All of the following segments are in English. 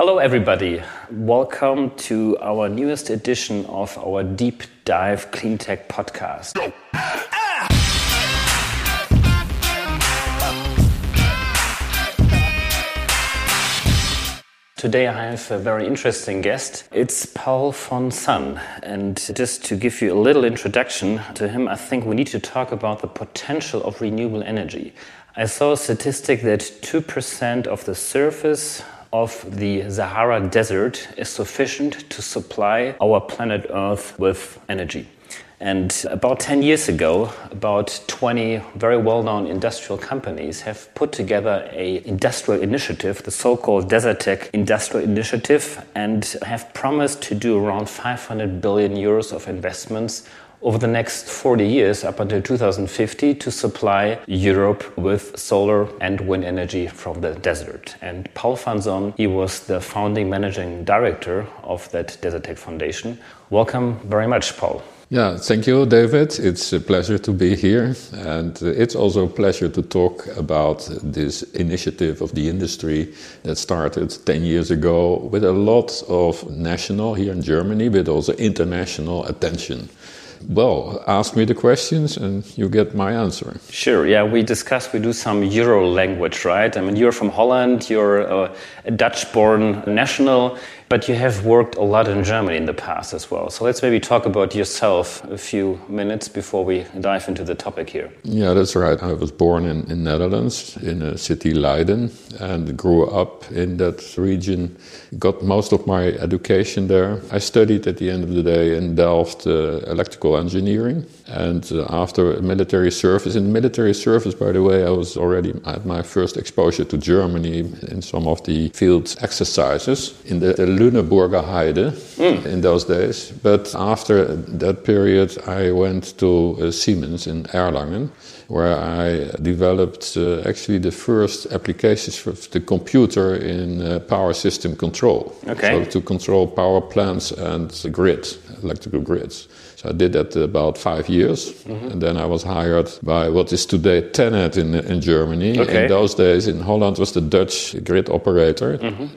Hello everybody, welcome to our newest edition of our Deep Dive Cleantech podcast. Today I have a very interesting guest. It's Paul von Son, and just to give you a little introduction to him, I think we need to talk about the potential of renewable energy. I saw a statistic that 2% of the surface of the Sahara Desert is sufficient to supply our planet Earth with energy. And about 10 years ago, about 20 very well-known industrial companies have put together an industrial initiative, the so-called Desertec Industrial Initiative, and have promised to do around 500 billion euros of investments over the next 40 years, up until 2050, to supply Europe with solar and wind energy from the desert. And Paul von Son, he was the founding managing director of that Desertec Foundation. Welcome very much, Paul. Yeah, thank you, David. It's a pleasure to be here. And it's also a pleasure to talk about this initiative of the industry that started 10 years ago with a lot of national here in Germany, but also international attention. Well, ask me the questions and you get my answer. Sure, yeah, we do some Euro language, right? I mean, you're from Holland, you're a Dutch-born national, but you have worked a lot in Germany in the past as well. So let's maybe talk about yourself a few minutes before we dive into the topic here. Yeah, that's right. I was born in Netherlands, in a city Leiden, and grew up in that region. Got most of my education there. I studied at the end of the day in Delft electrical engineering. And after military service, in military service, by the way, I was already at my first exposure to Germany in some of the field exercises in the Lüneburger Heide in those days. But after that period, I went to Siemens in Erlangen, where I developed actually the first applications for the computer in power system control. Okay. So to control power plants and electrical grids. So I did that about 5 years, and then I was hired by what is today TenneT in Germany. Okay. In those days, in Holland was the Dutch grid operator,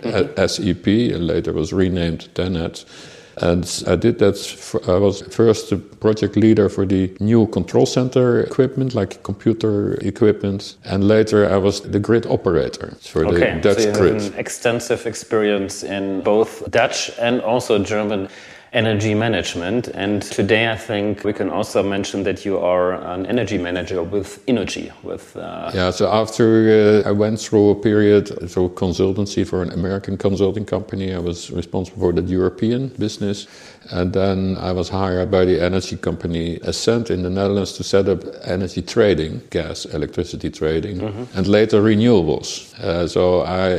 SEP, and later was renamed TenneT. And I did that. I was first the project leader for the new control center equipment, like computer equipment, and later I was the grid operator for the Dutch so you grid. have an extensive experience in both Dutch and also German energy management. And today I think we can also mention that you are an energy manager with Innogy. Yeah, so after I went through a period through consultancy for an American consulting company, I was responsible for the European business. And then I was hired by the energy company Essent in the Netherlands to set up energy trading, gas, electricity trading, and later renewables. So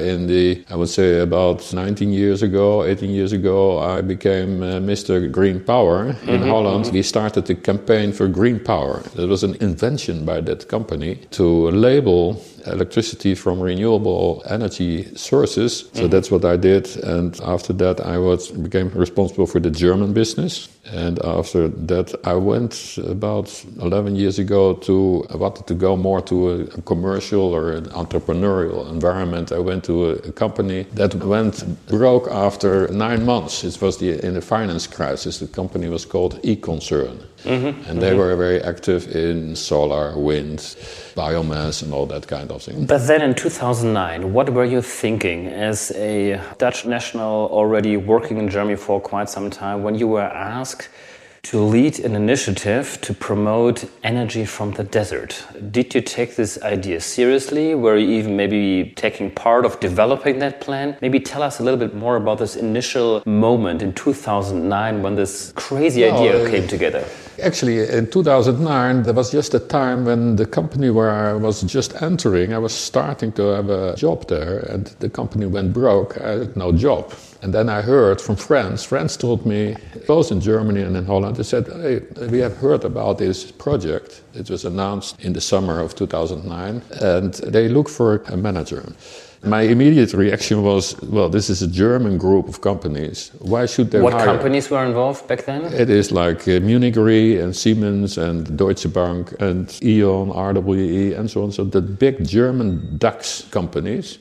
I would say about 18 years ago, I became Mr. Green Power in Holland. We started the campaign for green power. It was an invention by that company to label electricity from renewable energy sources. So that's what I did. And after that, I became responsible for the German business. And after that, I went about 11 years ago I wanted to go more to a commercial or an entrepreneurial environment. I went to a company that went broke after 9 months. It was in the finance crisis. The company was called eConcern. And they were very active in solar, wind, biomass and all that kind of thing. But then in 2009, what were you thinking as a Dutch national already working in Germany for quite some time when you were asked to lead an initiative to promote energy from the desert? Did you take this idea seriously? Were you even maybe taking part of developing that plan? Maybe tell us a little bit more about this initial moment in 2009 when this crazy idea came together. Actually, in 2009, there was just a time when the company where I was just entering, I was starting to have a job there, and the company went broke. I had no job. And then I heard from friends. Friends told me, both in Germany and in Holland, they said, hey, we have heard about this project. It was announced in the summer of 2009, and they look for a manager. My immediate reaction was, well, this is a German group of companies. Why should they hire? What companies were involved back then? It is like Munich Re and Siemens and Deutsche Bank and E.ON, RWE and so on. So the big German DAX companies.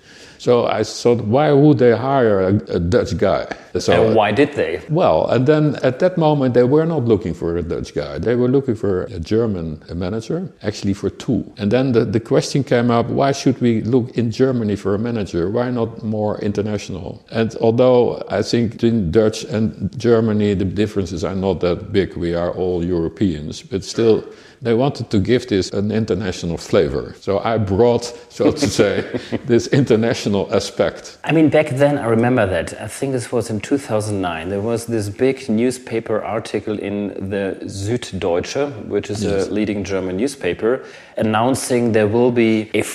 So I thought, why would they hire a Dutch guy? So, and why did they? Well, and then at that moment, they were not looking for a Dutch guy. They were looking for a German manager, actually for two. And then the question came up, why should we look in Germany for a manager? Why not more international? And although I think between Dutch and Germany, the differences are not that big. We are all Europeans, but still, they wanted to give this an international flavor. So I brought, so to say, this international aspect. I mean, back then, I remember that. I think this was in 2009. There was this big newspaper article in the Süddeutsche, which is a leading German newspaper, announcing there will be a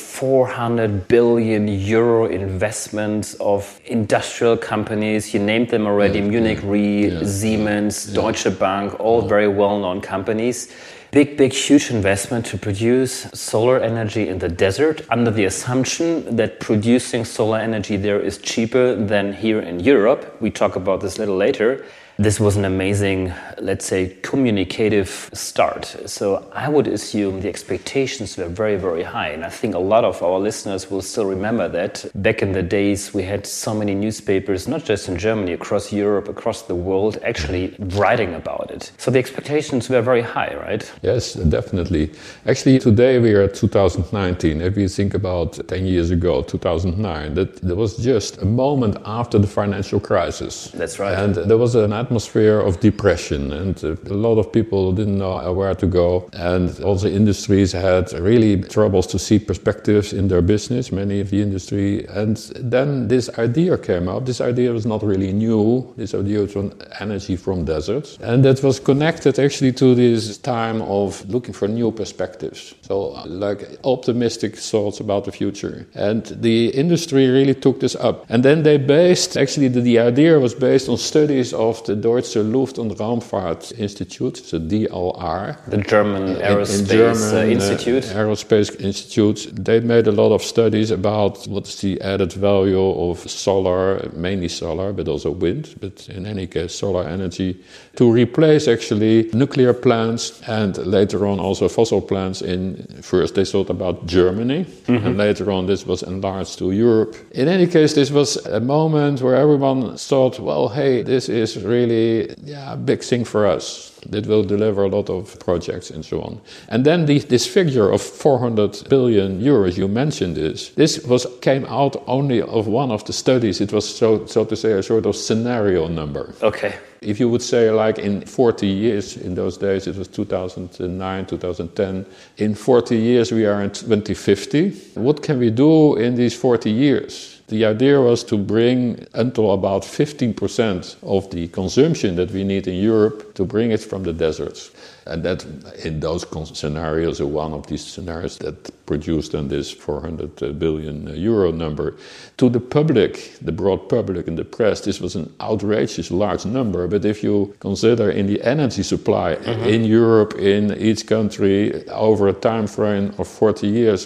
400 billion euro investment of industrial companies. You named them already, Munich Re, Siemens, Deutsche Bank, all very well-known companies. Big, huge investment to produce solar energy in the desert under the assumption that producing solar energy there is cheaper than here in Europe. We talk about this a little later. This was an amazing, let's say, communicative start. So I would assume the expectations were very, very high. And I think a lot of our listeners will still remember that. Back in the days, we had so many newspapers, not just in Germany, across Europe, across the world, actually writing about it. So the expectations were very high, right? Yes, definitely. Actually, today we are at 2019. If you think about 10 years ago, 2009, that there was just a moment after the financial crisis. That's right. And there was an atmosphere of depression, and a lot of people didn't know where to go, and also industries had really troubles to see perspectives in their business, many of the industry. And then this idea came up. This idea was not really new. This idea was on energy from deserts, and that was connected actually to this time of looking for new perspectives, so like optimistic thoughts about the future. And the industry really took this up, and then they based, actually the idea was based on studies of the Deutsche Luft- und Raumfahrt-Institut, so DLR. The German Aerospace Institute. Aerospace Institute. They made a lot of studies about what's the added value of solar, mainly solar, but also wind, but in any case solar energy, to replace actually nuclear plants and later on also fossil plants. First they thought about Germany, and later on this was enlarged to Europe. In any case, this was a moment where everyone thought, well, hey, this is really a big thing for us. It will deliver a lot of projects and so on. And then this figure of 400 billion euros, you mentioned this came out only of one of the studies. It was, so to say, a sort of scenario number. Okay. If you would say, like in 40 years, in those days it was 2009, 2010, in 40 years we are in 2050. What can we do in these 40 years? The idea was to bring until about 15% of the consumption that we need in Europe, to bring it from the deserts. And that, in those scenarios, one of these scenarios that produced then this 400 billion euro number. To the public, the broad public and the press, this was an outrageous large number. But if you consider in the energy supply in Europe, in each country, over a time frame of 40 years,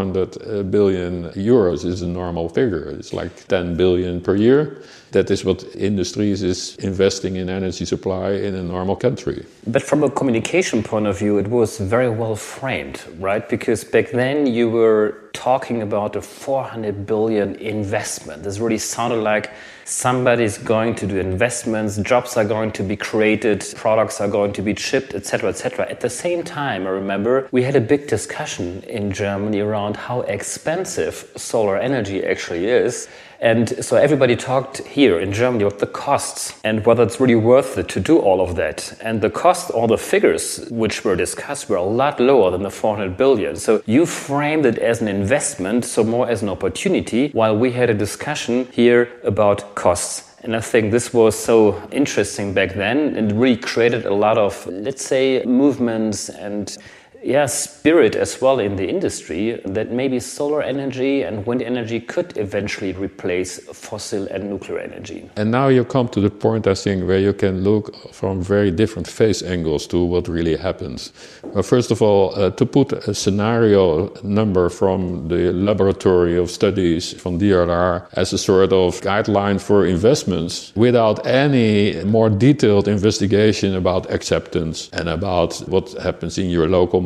400 billion euros is a normal figure. It's like 10 billion per year. That is what industries is investing in energy supply in a normal country. But from a communication point of view, it was very well framed, right? Because back then you were talking about a 400 billion investment. This really sounded like somebody's going to do investments, jobs are going to be created, products are going to be shipped, etc., etc. At the same time, I remember we had a big discussion in Germany around how expensive solar energy actually is. And so everybody talked here in Germany about the costs and whether it's really worth it to do all of that. And the cost, all the figures which were discussed were a lot lower than the 400 billion. So you framed it as an investment, so more as an opportunity, while we had a discussion here about costs. And I think this was so interesting back then and really created a lot of, let's say, movements and spirit as well in the industry, that maybe solar energy and wind energy could eventually replace fossil and nuclear energy. And now you come to the point, I think, where you can look from very different face angles to what really happens. Well, first of all, to put a scenario number from the laboratory of studies from DLR as a sort of guideline for investments without any more detailed investigation about acceptance and about what happens in your local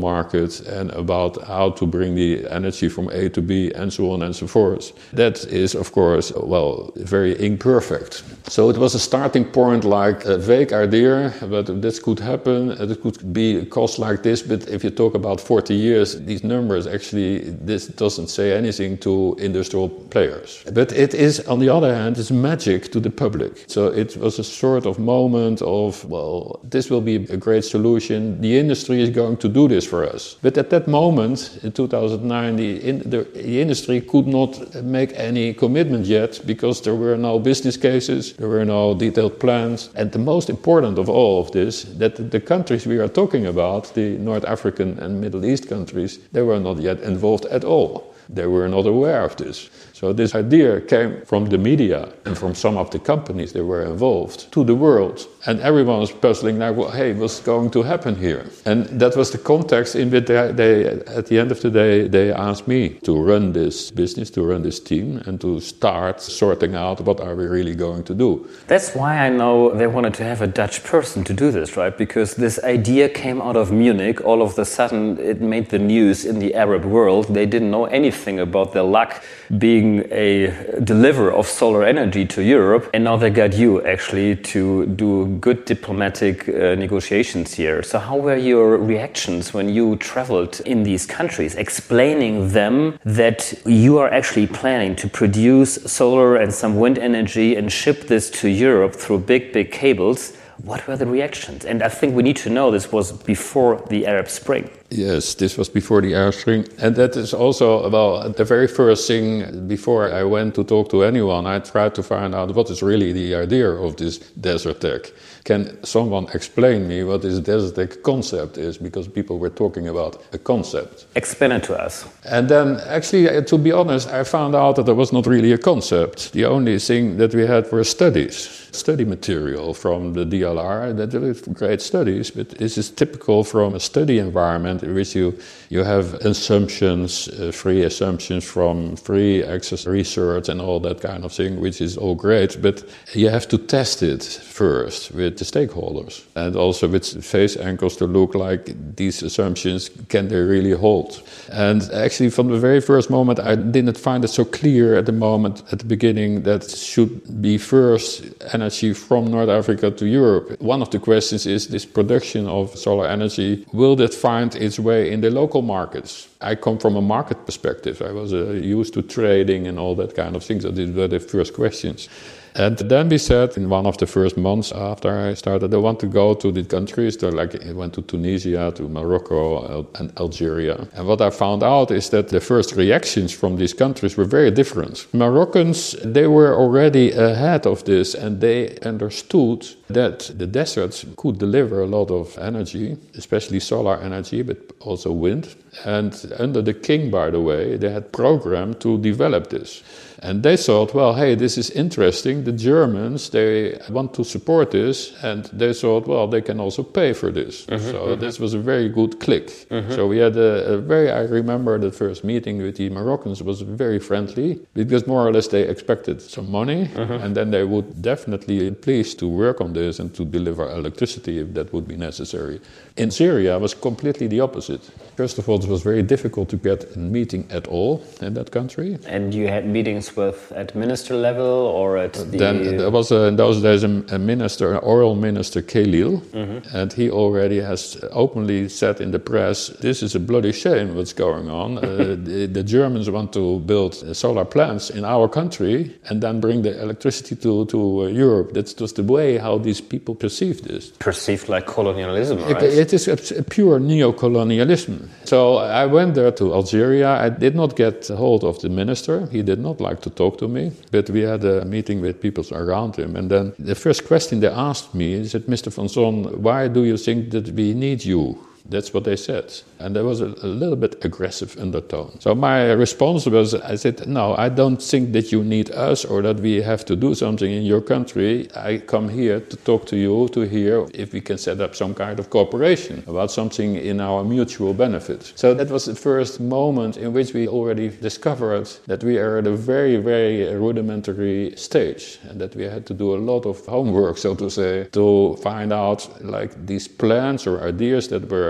market and about how to bring the energy from A to B and so on and so forth. That is, of course, well, very imperfect. So it was a starting point, like a vague idea, but this could happen. It could be a cost like this, but if you talk about 40 years, these numbers actually, this doesn't say anything to industrial players. But it is, on the other hand, it's magic to the public. So it was a sort of moment of, well, this will be a great solution. The industry is going to do this for us. But at that moment, in 2009, the industry could not make any commitment yet because there were no business cases, there were no detailed plans. And the most important of all of this, that the countries we are talking about, the North African and Middle East countries, they were not yet involved at all. They were not aware of this. So this idea came from the media and from some of the companies that were involved to the world. And everyone was puzzling like, well, hey, what's going to happen here? And that was the context in which they, at the end of the day, they asked me to run this business, to run this team, and to start sorting out what are we really going to do. That's why I know they wanted to have a Dutch person to do this, right? Because this idea came out of Munich. All of a sudden, it made the news in the Arab world. They didn't know anything about their luck being a deliverer of solar energy to Europe. And now they got you actually to do good diplomatic negotiations here. So how were your reactions when you traveled in these countries, explaining them that you are actually planning to produce solar and some wind energy and ship this to Europe through big cables? What were the reactions? And I think we need to know this was before the Arab Spring. Yes, this was before the Arab Spring. And that is also, well, the very first thing before I went to talk to anyone, I tried to find out what is really the idea of this Desertec. Can someone explain me what this Desertec concept is? Because people were talking about a concept. Explain it to us. And then, actually, to be honest, I found out that there was not really a concept. The only thing that we had were study material from the DLR. That were great studies, but this is typical from a study environment in which you have assumptions, free assumptions from free access research and all that kind of thing, which is all great, but you have to test it first with the stakeholders and also with phase angles to look like these assumptions, can they really hold? And actually from the very first moment I didn't find it so clear at the beginning that should be first energy from North Africa to Europe. One of the questions is this production of solar energy, will that find its way in the local markets? I come from a market perspective. I was used to trading and all that kind of things. So these were the first questions. And then we said in one of the first months after I started, I want to go to the countries. So like I went to Tunisia, to Morocco and Algeria. And what I found out is that the first reactions from these countries were very different. Moroccans, they were already ahead of this and they understood that the deserts could deliver a lot of energy, especially solar energy, but also wind. And under the king, by the way, they had programmed to develop this. And they thought, well, hey, this is interesting. The Germans, they want to support this. And they thought, well, they can also pay for this. This was a very good click. So we had I remember the first meeting with the Moroccans was very friendly because more or less they expected some money. And then they would definitely be pleased to work on this and to deliver electricity if that would be necessary. In Syria, it was completely the opposite. First of all, it was very difficult to get a meeting at all in that country. And you had meetings at minister level or at the... Then there was in those days a minister, an oil minister, Khalil, and he already has openly said in the press, this is a bloody shame what's going on. The Germans want to build solar plants in our country and then bring the electricity to Europe. That's just the way how these people perceive this. Perceived like colonialism, right? It is a pure neo-colonialism. So I went there to Algeria. I did not get hold of the minister. He did not like to talk to me, but we had a meeting with people around him. And then the first question they asked me is, Mr. van Zon, why do you think that we need you? That's what they said. And there was a little bit aggressive undertone. So my response was, I said, no, I don't think that you need us or that we have to do something in your country. I come here to talk to you, to hear if we can set up some kind of cooperation about something in our mutual benefit. So that was the first moment in which we already discovered that we are at a very, very rudimentary stage and that we had to do a lot of homework, so to say, to find out like these plans or ideas that were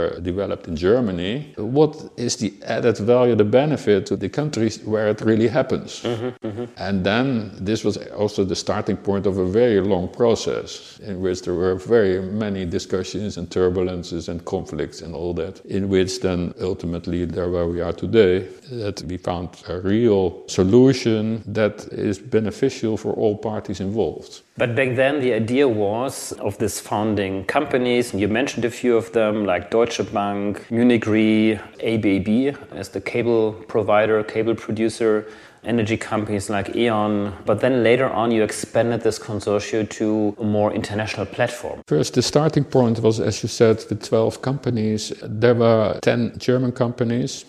were developed in Germany, what is the added value, the benefit to the countries where it really happens? And then this was also the starting point of a very long process in which there were very many discussions and turbulences and conflicts and all that, in which then ultimately there where we are today, that we found a real solution that is beneficial for all parties involved. But back then the idea was of this founding companies, and you mentioned a few of them like Deutsche Bank, Munich Re, ABB as the cable provider, cable producer, energy companies like E.ON, but then later on you expanded this consortium to a more international platform. First, the starting point was, as you said, with 12 companies. There were 10 German companies,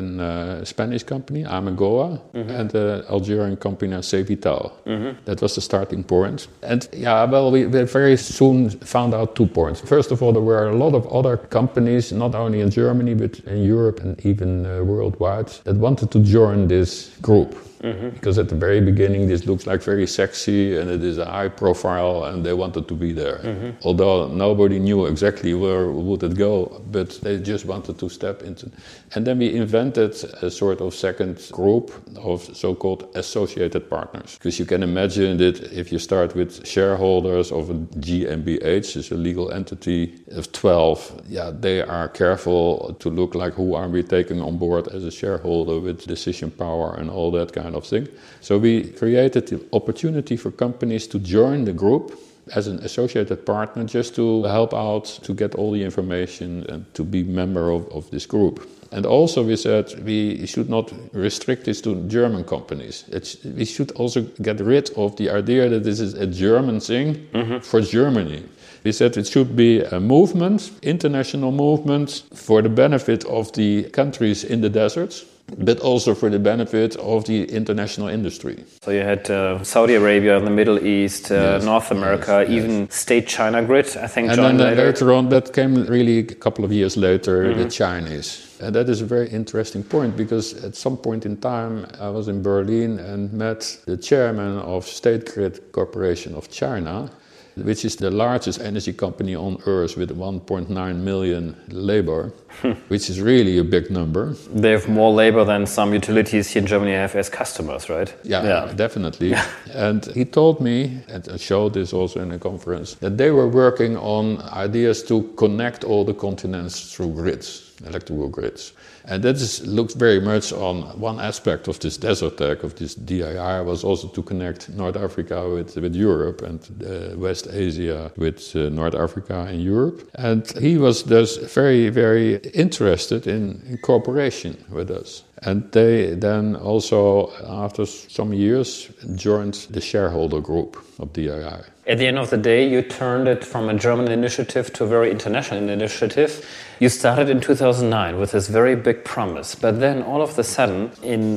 a Spanish company, Amegoa, and an Algerian company, Cevital. That was the starting point. And we very soon found out 2 points. First of all, there were a lot of other companies, not only in Germany, but in Europe and even worldwide, that wanted to join this group. Because at the very beginning this looks like very sexy and it is a high profile and they wanted to be there. Although nobody knew exactly where would it go, but they just wanted to step into. And then we invented a sort of second group of so-called associated partners. Because you can imagine that if you start with shareholders of a GmbH, is a legal entity of 12, they are careful to look like who are we taking on board as a shareholder with decision power and all that kind of thing. So we created the opportunity for companies to join the group as an associated partner just to help out to get all the information and to be member of this group. And also we said we should not restrict this to German companies. We should also get rid of the idea that this is a German thing for Germany. We said it should be a movement, international movement, for the benefit of the countries in the deserts, but also for the benefit of the international industry. So you had Saudi Arabia, the Middle East, North America, even State China Grid, I think, joined later. And then later on, that came really a couple of years later, the Chinese. And that is a very interesting point, because at some point in time I was in Berlin and met the chairman of State Grid Corporation of China, which is the largest energy company on earth with 1.9 million labor, which is really a big number. They have more labor than some utilities here in Germany have as customers, right? Yeah. Definitely. And he told me, and I showed this also in a conference, that they were working on ideas to connect all the continents through grids, electrical grids. And that looks very much on one aspect of this desert tech, of this DII, was also to connect North Africa with Europe and West Asia with North Africa and Europe. And he was thus very, very interested in cooperation with us. And they then also, after some years, joined the shareholder group of DII. At the end of the day, you turned it from a German initiative to a very international initiative. You started in 2009 with this very big promise. But then all of a sudden, in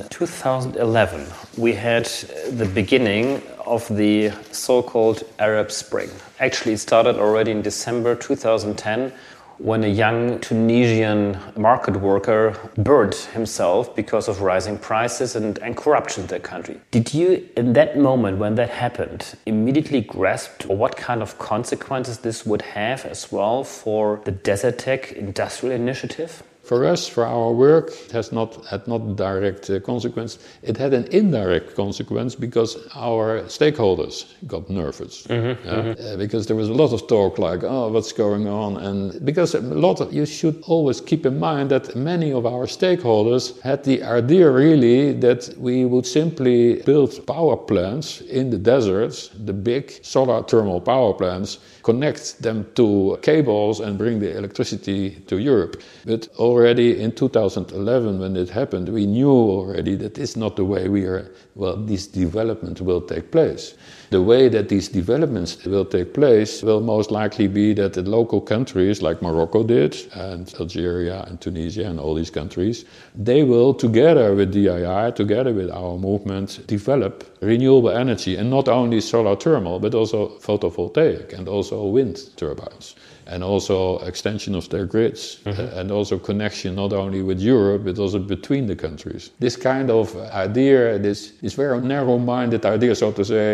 2011, we had the beginning of the so-called Arab Spring. Actually, it started already in December 2010, when a young Tunisian market worker burned himself because of rising prices and corruption in the country. Did you, in that moment when that happened, immediately grasp what kind of consequences this would have as well for the Desert Tech industrial initiative? For us, for our work, it had not direct consequence. It had an indirect consequence because our stakeholders got nervous. Because there was a lot of talk like, oh, what's going on? And because you should always keep in mind that many of our stakeholders had the idea really that we would simply build power plants in the deserts, the big solar thermal power plants, connect them to cables and bring the electricity to Europe. But already in 2011, when it happened, we knew already that this is not the way this development will take place. The way that these developments will take place will most likely be that the local countries, like Morocco did, and Algeria and Tunisia and all these countries, they will, together with DII, together with our movement, develop renewable energy, and not only solar thermal, but also photovoltaic and also wind turbines. And also extension of their grids, and also connection not only with Europe, but also between the countries. This kind of idea, this very narrow-minded idea, so to say,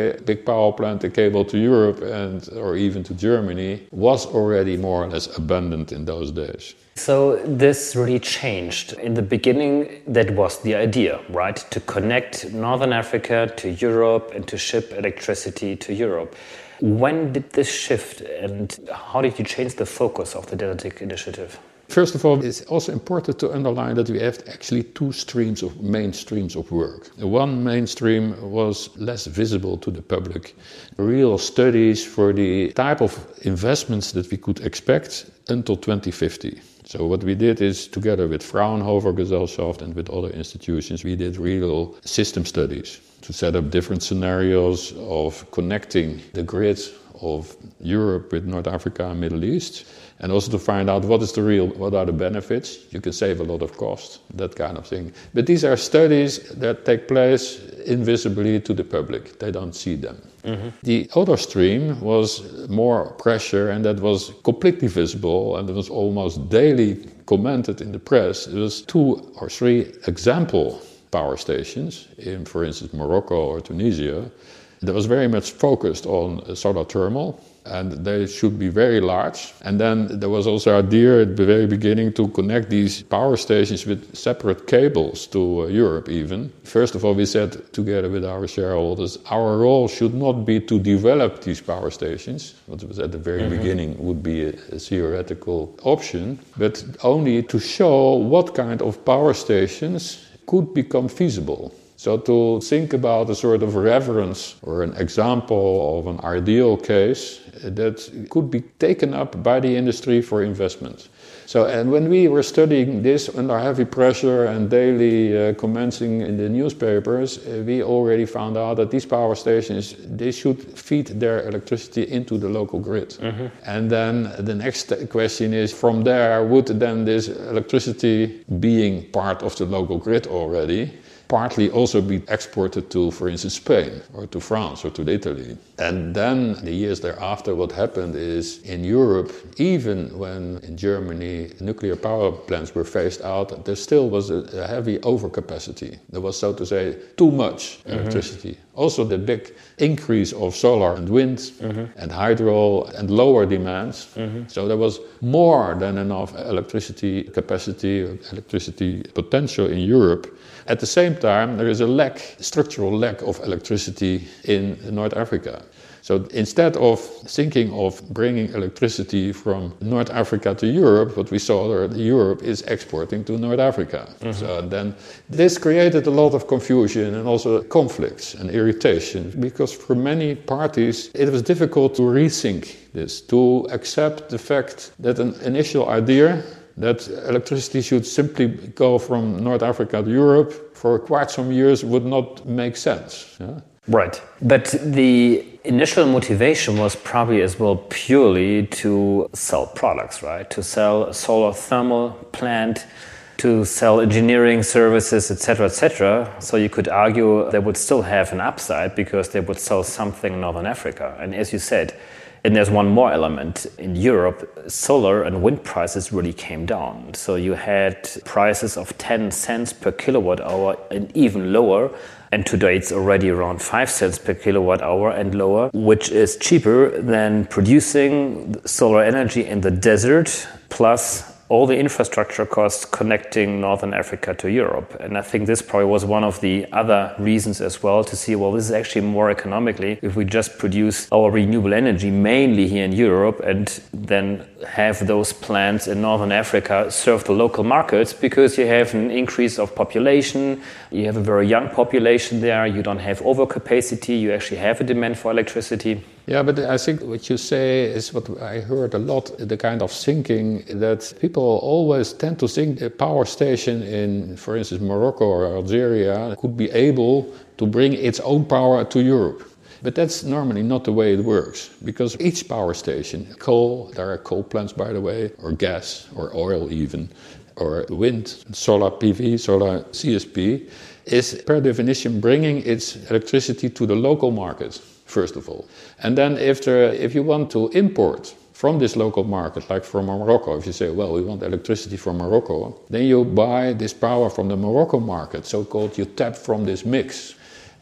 big power plant, a cable to Europe or even to Germany was already more or less abundant in those days. So this really changed. In the beginning, that was the idea, right? To connect Northern Africa to Europe and to ship electricity to Europe. When did this shift and how did you change the focus of the Deltaic initiative? First of all, it's also important to underline that we have actually two main streams of work. One mainstream was less visible to the public. Real studies for the type of investments that we could expect until 2050. So what we did is, together with Fraunhofer Gesellschaft and with other institutions, we did real system studies to set up different scenarios of connecting the grid of Europe with North Africa and Middle East, and also to find out what are the benefits. You can save a lot of cost, that kind of thing. But these are studies that take place invisibly to the public. They don't see them. Mm-hmm. The other stream was more pressure, and that was completely visible, and it was almost daily commented in the press. It was 2 or 3 example power stations in, for instance, Morocco or Tunisia, that was very much focused on solar thermal, and they should be very large. And then there was also an idea at the very beginning to connect these power stations with separate cables to Europe even. First of all, we said together with our shareholders, our role should not be to develop these power stations, what was at the very beginning would be a theoretical option, but only to show what kind of power stations could become feasible. So to think about a sort of reference or an example of an ideal case that could be taken up by the industry for investment. So, and when we were studying this under heavy pressure and daily commenting in the newspapers, we already found out that these power stations, they should feed their electricity into the local grid. Mm-hmm. And then the next question is, from there, would then this electricity being part of the local grid already, partly also be exported to, for instance, Spain or to France or to Italy. And then the years thereafter, what happened is in Europe, even when in Germany nuclear power plants were phased out, there still was a heavy overcapacity. There was, so to say, too much electricity. Also the big increase of solar and wind and hydro and lower demands. So there was more than enough electricity capacity, electricity potential in Europe. At the same time, there is a structural lack of electricity in North Africa. So instead of thinking of bringing electricity from North Africa to Europe, what we saw that Europe is exporting to North Africa. So then this created a lot of confusion and also conflicts and irritation, because for many parties it was difficult to rethink this, to accept the fact that an initial idea that electricity should simply go from North Africa to Europe for quite some years would not make sense. Yeah? Right. But the initial motivation was probably as well purely to sell products, right? To sell a solar thermal plant, to sell engineering services, etc., etc. So you could argue they would still have an upside because they would sell something in Northern Africa. And as you said, and there's one more element. In Europe, solar and wind prices really came down. So you had prices of 10 cents per kilowatt hour and even lower. And today it's already around 5 cents per kilowatt hour and lower, which is cheaper than producing solar energy in the desert, plus all the infrastructure costs connecting Northern Africa to Europe. And I think this probably was one of the other reasons as well to see, well, this is actually more economically if we just produce our renewable energy mainly here in Europe and then have those plants in Northern Africa serve the local markets, because you have an increase of population, you have a very young population there, you don't have overcapacity, you actually have a demand for electricity. Yeah, but I think what you say is what I heard a lot, the kind of thinking that people always tend to think a power station in, for instance, Morocco or Algeria could be able to bring its own power to Europe. But that's normally not the way it works, because each power station, coal, there are coal plants by the way, or gas, or oil even, or wind, solar PV, solar CSP, is per definition bringing its electricity to the local market, first of all. And then if you want to import from this local market, like from Morocco, if you say, well, we want electricity from Morocco, then you buy this power from the Morocco market, so-called you tap from this mix.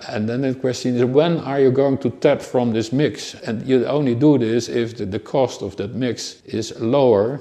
And then the question is, when are you going to tap from this mix? And you only do this if the cost of that mix is lower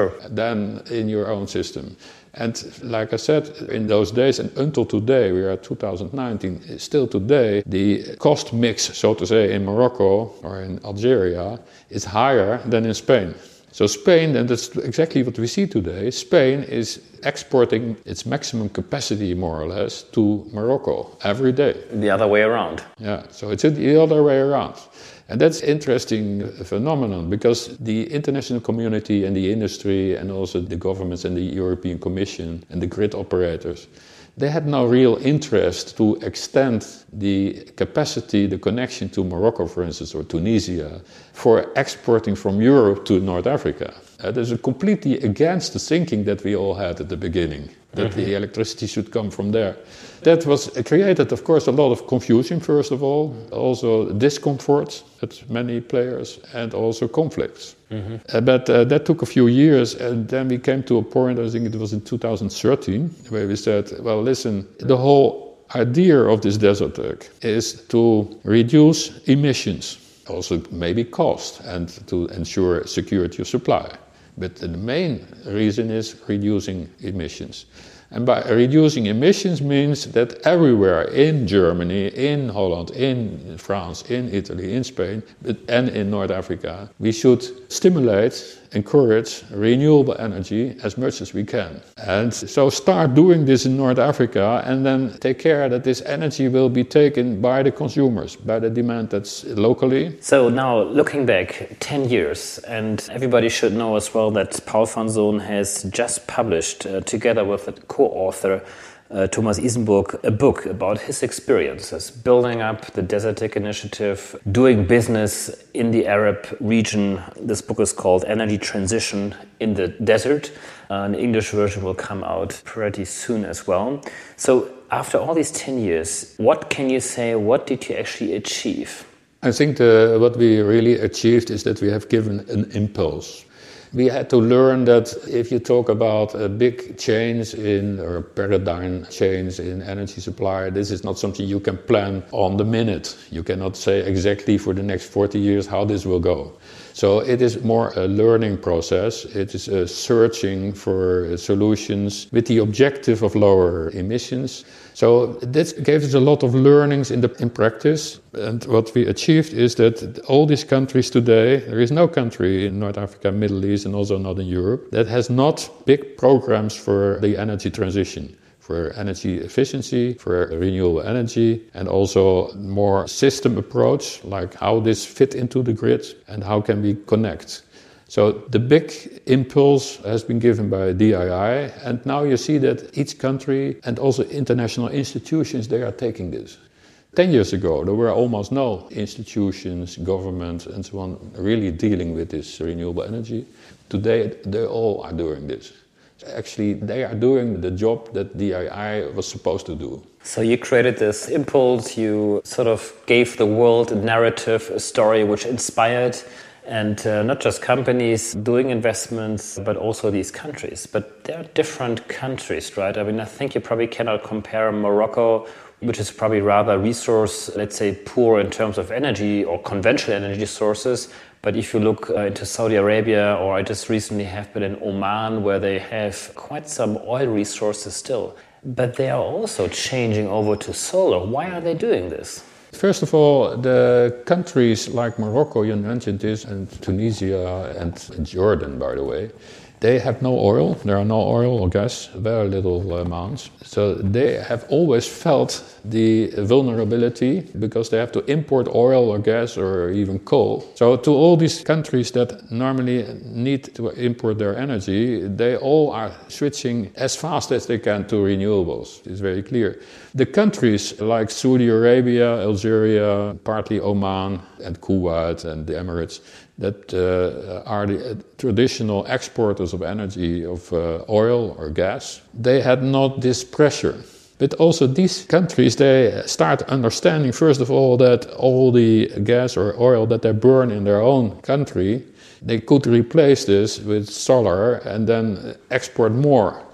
than in your own system. And like I said, in those days and until today, we are at 2019, still today, the cost mix, so to say, in Morocco or in Algeria is higher than in Spain. So Spain, and that's exactly what we see today, Spain is exporting its maximum capacity, more or less, to Morocco every day. The other way around. Yeah, so it's the other way around. And that's an interesting phenomenon because the international community and the industry and also the governments and the European Commission and the grid operators, they had no real interest to extend the capacity, the connection to Morocco, for instance, or Tunisia, for exporting from Europe to North Africa. That is completely against the thinking that we all had at the beginning, that the electricity should come from there. That was created, of course, a lot of confusion, first of all, also discomfort at many players, and also conflicts. But that took a few years, and then we came to a point, I think it was in 2013, where we said, well, listen, the whole idea of this desert tech is to reduce emissions, also maybe cost, and to ensure security of supply. But the main reason is reducing emissions. And by reducing emissions means that everywhere in Germany, in Holland, in France, in Italy, in Spain, and in North Africa, we should stimulate, encourage renewable energy as much as we can. And so start doing this in North Africa and then take care that this energy will be taken by the consumers, by the demand that's locally. So now looking back 10 years, and everybody should know as well that Paul van Son has just published, together with a co-author, Thomas Isenburg, a book about his experiences building up the Desertec initiative, doing business in the Arab region. This book is called Energy Transition in the Desert. An English version will come out pretty soon as well. So after all these 10 years, what can you say, what did you actually achieve? I think what we really achieved is that we have given an impulse. We had to learn that if you talk about a big change or paradigm change in energy supply, this is not something you can plan on the minute. You cannot say exactly for the next 40 years how this will go. So it is more a learning process. It is a searching for solutions with the objective of lower emissions. So that gave us a lot of learnings in practice. And what we achieved is that all these countries today, there is no country in North Africa, Middle East, and also not in Europe, that has not big programs for the energy transition, for energy efficiency, for renewable energy, and also more system approach, like how this fit into the grid and how can we connect. So the big impulse has been given by DII, and now you see that each country and also international institutions, they are taking this. 10 years ago, there were almost no institutions, governments, and so on really dealing with this renewable energy. Today, they all are doing this. Actually, they are doing the job that DII was supposed to do. So you created this impulse, you sort of gave the world a narrative, a story which inspired, and not just companies doing investments, but also these countries. But they're different countries, right? I mean, I think you probably cannot compare Morocco, which is probably rather resource, let's say, poor in terms of energy or conventional energy sources. But if you look into Saudi Arabia, or I just recently have been in Oman, where they have quite some oil resources still. But they are also changing over to solar. Why are they doing this? First of all, the countries like Morocco, you mentioned this, and Tunisia and Jordan, by the way, they have no oil. There are no oil or gas, very little amounts. So they have always felt the vulnerability because they have to import oil or gas or even coal. So to all these countries that normally need to import their energy, they all are switching as fast as they can to renewables. It's very clear. The countries like Saudi Arabia, Algeria, partly Oman and Kuwait and the Emirates, that are the traditional exporters of energy, of oil or gas, they had not this pressure. But also these countries, they start understanding, first of all, that all the gas or oil that they burn in their own country, they could replace this with solar and then export more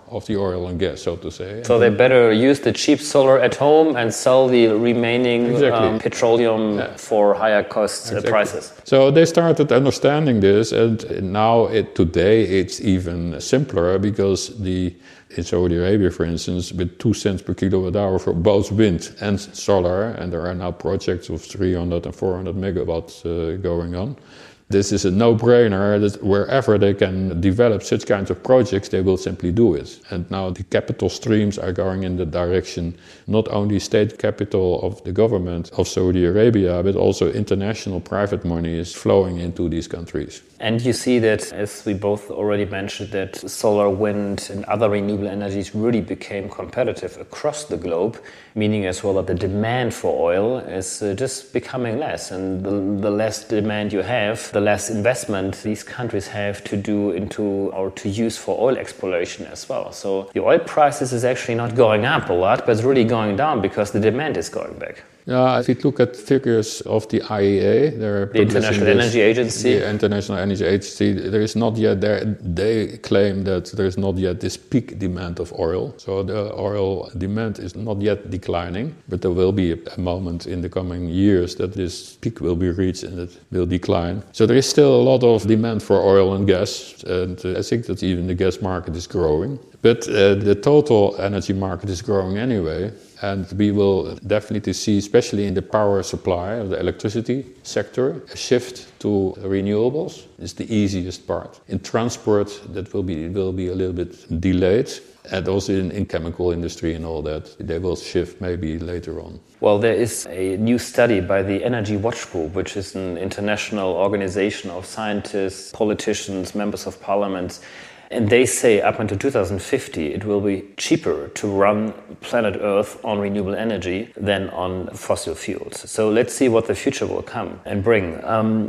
of the oil and gas, so to say. So they better use the cheap solar at home and sell the remaining petroleum for higher cost prices. So they started understanding this, and now today it's even simpler because in Saudi Arabia, for instance, with 2 cents per kilowatt hour for both wind and solar, and there are now projects of 300 and 400 megawatts going on. This is a no-brainer that wherever they can develop such kinds of projects, they will simply do it. And now the capital streams are going in the direction, not only state capital of the government of Saudi Arabia, but also international private money is flowing into these countries. And you see that, as we both already mentioned, that solar, wind and other renewable energies really became competitive across the globe, meaning as well that the demand for oil is just becoming less. And the less demand you have, the less investment these countries have to do into or to use for oil exploration as well. So the oil prices is actually not going up a lot, but it's really going down because the demand is going back. Yeah, if you look at figures of the IEA, the International Energy Agency. The International Energy Agency, there is not yet there. They claim that there is not yet this peak demand of oil. So the oil demand is not yet declining, but there will be a moment in the coming years that this peak will be reached and it will decline. So there is still a lot of demand for oil and gas, and I think that even the gas market is growing. But the total energy market is growing anyway. And we will definitely see, especially in the power supply of the electricity sector, a shift to renewables. It's the easiest part. In transport, that will be a little bit delayed. And also in chemical industry and all that, they will shift maybe later on. Well, there is a new study by the Energy Watch Group, which is an international organization of scientists, politicians, members of parliament. And they say up until 2050, it will be cheaper to run planet Earth on renewable energy than on fossil fuels. So let's see what the future will come and bring.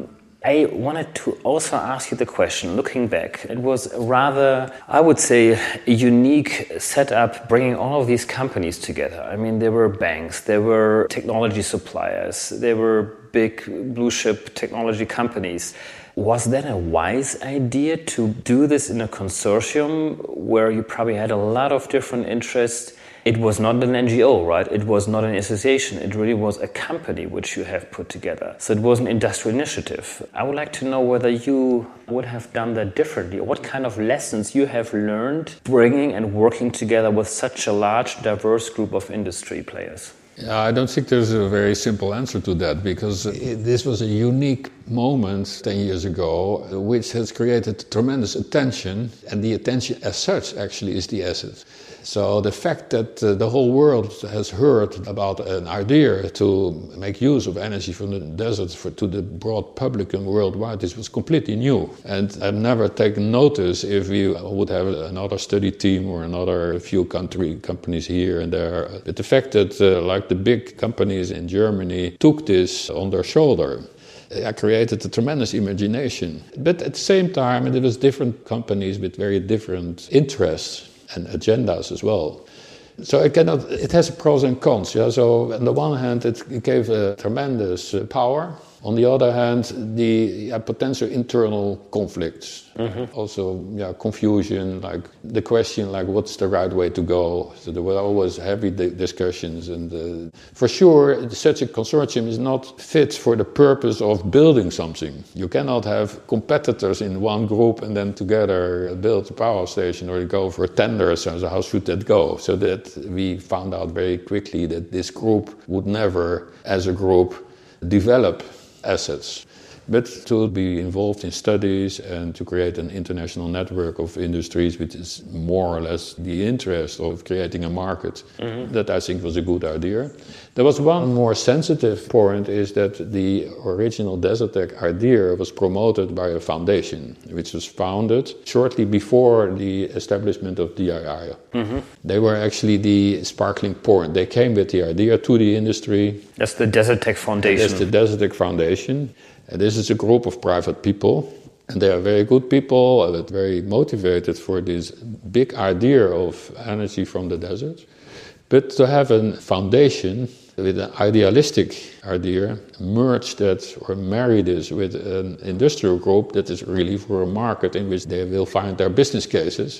I wanted to also ask you the question, looking back, it was rather, I would say, a unique setup bringing all of these companies together. I mean, there were banks, there were technology suppliers, there were big blue chip technology companies. Was that a wise idea to do this in a consortium where you probably had a lot of different interests? It was not an NGO, right? It was not an association. It really was a company which you have put together. So it was an industrial initiative. I would like to know whether you would have done that differently, or what kind of lessons you have learned bringing and working together with such a large, diverse group of industry players. I don't think there's a very simple answer to that, because this was a unique moment 10 years ago, which has created tremendous attention, and the attention as such actually is the asset. So the fact that the whole world has heard about an idea to make use of energy from the deserts to the broad public and worldwide, this was completely new. And I've never taken notice if we would have another study team or another few companies here and there. But the fact that like the big companies in Germany took this on their shoulder, I created a tremendous imagination. But at the same time, there was different companies with very different interests and agendas as well. So it has pros and cons. Yeah? So on the one hand, it gave a tremendous power. On the other hand, the potential internal conflicts. Mm-hmm. Also, confusion, like the question, like what's the right way to go? So there were always heavy discussions, and for sure, such a consortium is not fit for the purpose of building something. You cannot have competitors in one group and then together build a power station or go for tenders. So how should that go? So that we found out very quickly that this group would never, as a group, develop assets, but to be involved in studies and to create an international network of industries, which is more or less the interest of creating a market. Mm-hmm. That I think was a good idea. There was one more sensitive point, is that the original Desertec idea was promoted by a foundation, which was founded shortly before the establishment of DII. Mm-hmm. They were actually the sparkling point. They came with the idea to the industry. That's the Desertec Foundation. That's the Desertec Foundation. And this is a group of private people, and they are very good people, very motivated for this big idea of energy from the desert. But to have a foundation with an idealistic idea, merge that or marry this with an industrial group that is really for a market in which they will find their business cases,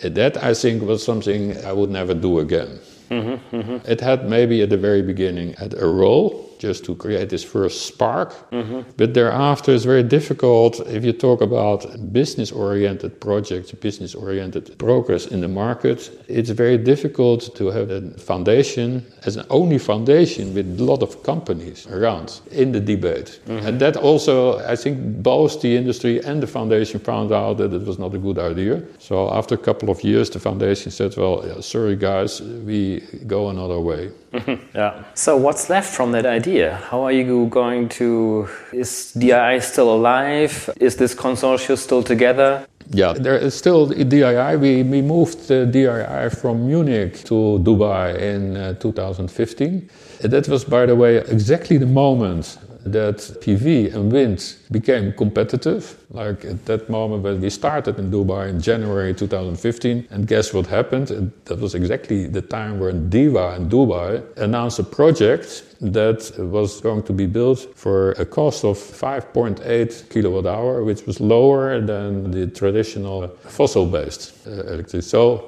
That, I think, was something I would never do again. It had maybe at the very beginning had a role just to create this first spark. But thereafter it's very difficult if you talk about business-oriented projects, business-oriented progress in the market. It's very difficult to have a foundation as an only foundation with a lot of companies around in the debate. And that also, I think, both the industry and the foundation found out that it was not a good idea. So after a couple of years, the foundation said, well, sorry guys, we go another way. Yeah. So what's left from that idea? How are you going to... Is DII still alive? Is this consortium still together? Yeah, there is still DII. We moved DII from Munich to Dubai in 2015. That was, by the way, exactly the moment that PV and wind became competitive. Like at that moment when we started in Dubai in January 2015, and guess what happened? That was exactly the time when DEWA in Dubai announced a project that was going to be built for a cost of 5.8 kilowatt hour, which was lower than the traditional fossil-based electricity. So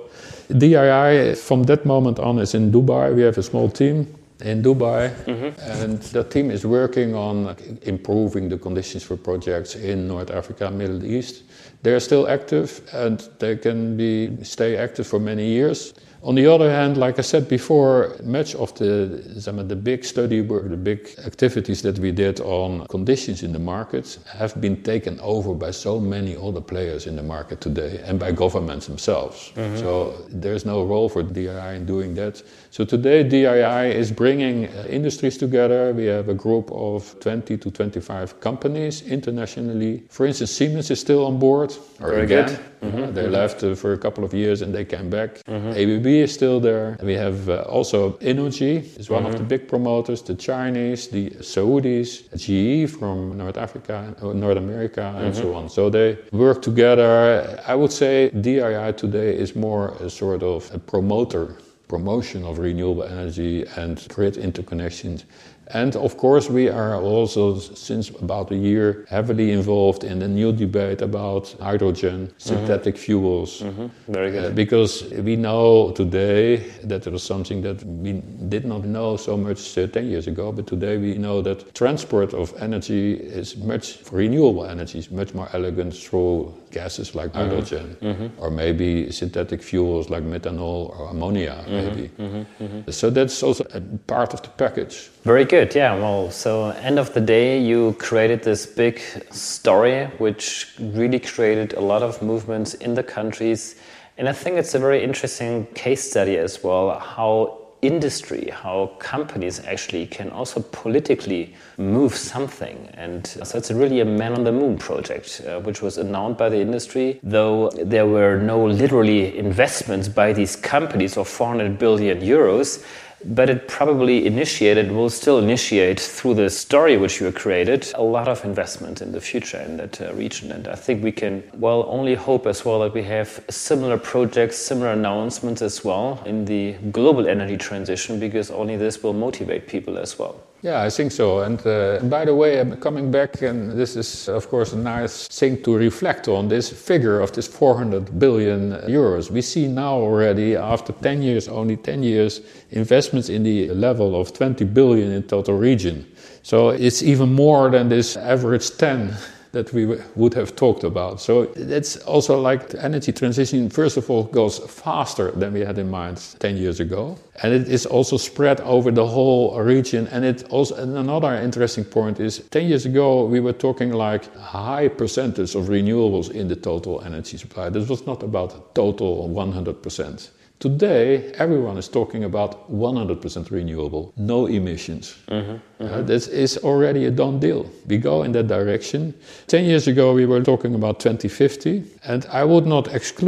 DII from that moment on is in Dubai. We have a small team in Dubai, and the team is working on improving the conditions for projects in North Africa, Middle East. They're still active and they can stay active for many years. On the other hand, like I said before, much of the big study work, the big activities that we did on conditions in the market have been taken over by so many other players in the market today and by governments themselves. So there's no role for DII in doing that. So today DII is bringing industries together. We have a group of 20 to 25 companies internationally. For instance, Siemens is still on board. Very good. They left for a couple of years and they came back. ABB is still there. We have also Innogy is one of the big promoters, the Chinese, the Saudis, GE from North Africa, North America, and so on. So they work together. I would say DII today is more a sort of a promotion of renewable energy and grid interconnections. And of course, we are also, since about a year, heavily involved in the new debate about hydrogen, synthetic fuels. Very good. Because we know today that it was something that we did not know so much 10 years ago, but today we know that transport of energy is renewable energy is much more elegant through gases like hydrogen, or maybe synthetic fuels like methanol or ammonia, maybe. So that's also a part of the package. Very good, yeah. Well, so end of the day, you created this big story, which really created a lot of movements in the countries. And I think it's a very interesting case study as well, how industry, how companies actually can also politically move something. And so it's really a man on the moon project, which was announced by the industry, though there were no literally investments by these companies of 400 billion euros. But it probably will still initiate through the story which you created, a lot of investment in the future in that region. And I think we can, only hope as well that we have similar projects, similar announcements as well in the global energy transition, because only this will motivate people as well. Yeah, I think so. And by the way, I'm coming back, and this is, of course, a nice thing to reflect on, this figure of this 400 billion euros. We see now already, after 10 years, only 10 years, investments in the level of 20 billion in total region. So it's even more than this average 10 that we would have talked about. So it's also like the energy transition, first of all, goes faster than we had in mind 10 years ago. And it is also spread over the whole region. And another interesting point is 10 years ago, we were talking like high percentage of renewables in the total energy supply. This was not about total 100%. Today, everyone is talking about 100% renewable, no emissions. This is already a done deal. We go in that direction. 10 years ago, we were talking about 2050. And I would not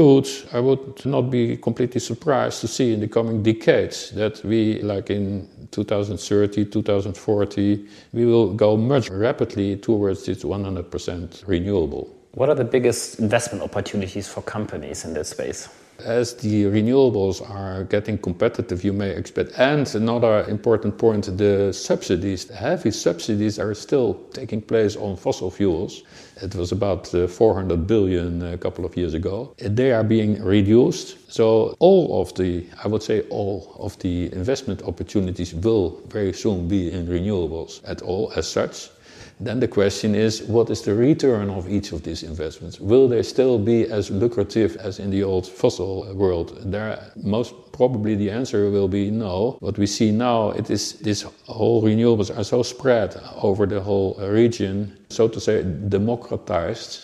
be completely surprised to see in the coming decades that we, like in 2030, 2040, we will go much rapidly towards this 100% renewable. What are the biggest investment opportunities for companies in this space? As the renewables are getting competitive, you may expect. And another important point, the subsidies, the heavy subsidies are still taking place on fossil fuels. It was about 400 billion a couple of years ago. They are being reduced. So all of the investment opportunities will very soon be in renewables at all as such. Then the question is, what is the return of each of these investments? Will they still be as lucrative as in the old fossil world? There, most probably the answer will be no. What we see now, it is this whole renewables are so spread over the whole region, so to say, democratized.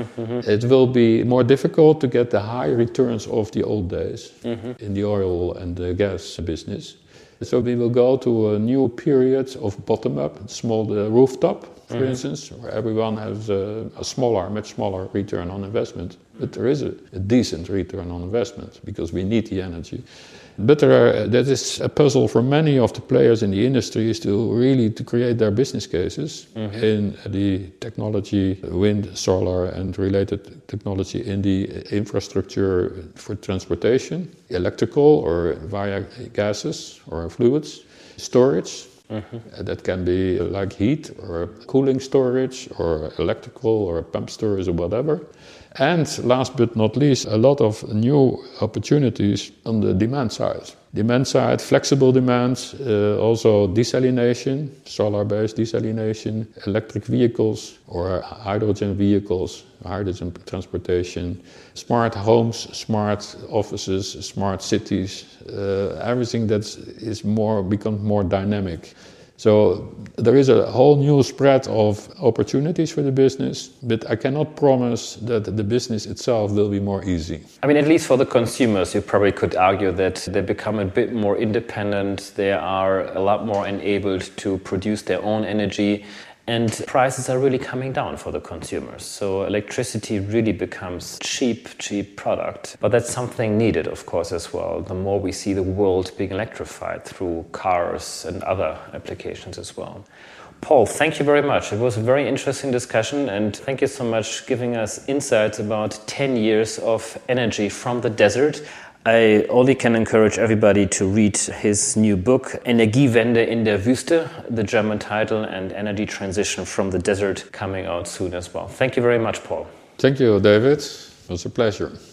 It will be more difficult to get the high returns of the old days in the oil and the gas business. So we will go to a new period of bottom-up, small rooftop, for instance, where everyone has a much smaller return on investment. But there is a decent return on investment because we need the energy. But that is a puzzle for many of the players in the industry is to create their business cases in the technology, wind, solar and related technology in the infrastructure for transportation, electrical or via gases or fluids, storage. That can be like heat or cooling storage or electrical or pump storage or whatever. And last but not least, a lot of new opportunities on the demand side. Demand side, flexible demands, also desalination, solar-based desalination, electric vehicles or hydrogen vehicles, hydrogen transportation, smart homes, smart offices, smart cities, everything that is becomes more dynamic. So there is a whole new spread of opportunities for the business, but I cannot promise that the business itself will be more easy. I mean, at least for the consumers, you probably could argue that they become a bit more independent. They are a lot more enabled to produce their own energy. And prices are really coming down for the consumers. So electricity really becomes cheap product. But that's something needed, of course, as well. The more we see the world being electrified through cars and other applications as well. Paul, thank you very much. It was a very interesting discussion. And thank you so much for giving us insights about 10 years of energy from the desert. I only can encourage everybody to read his new book, Energiewende in der Wüste, the German title, and Energy Transition from the Desert, coming out soon as well. Thank you very much, Paul. Thank you, David. It was a pleasure.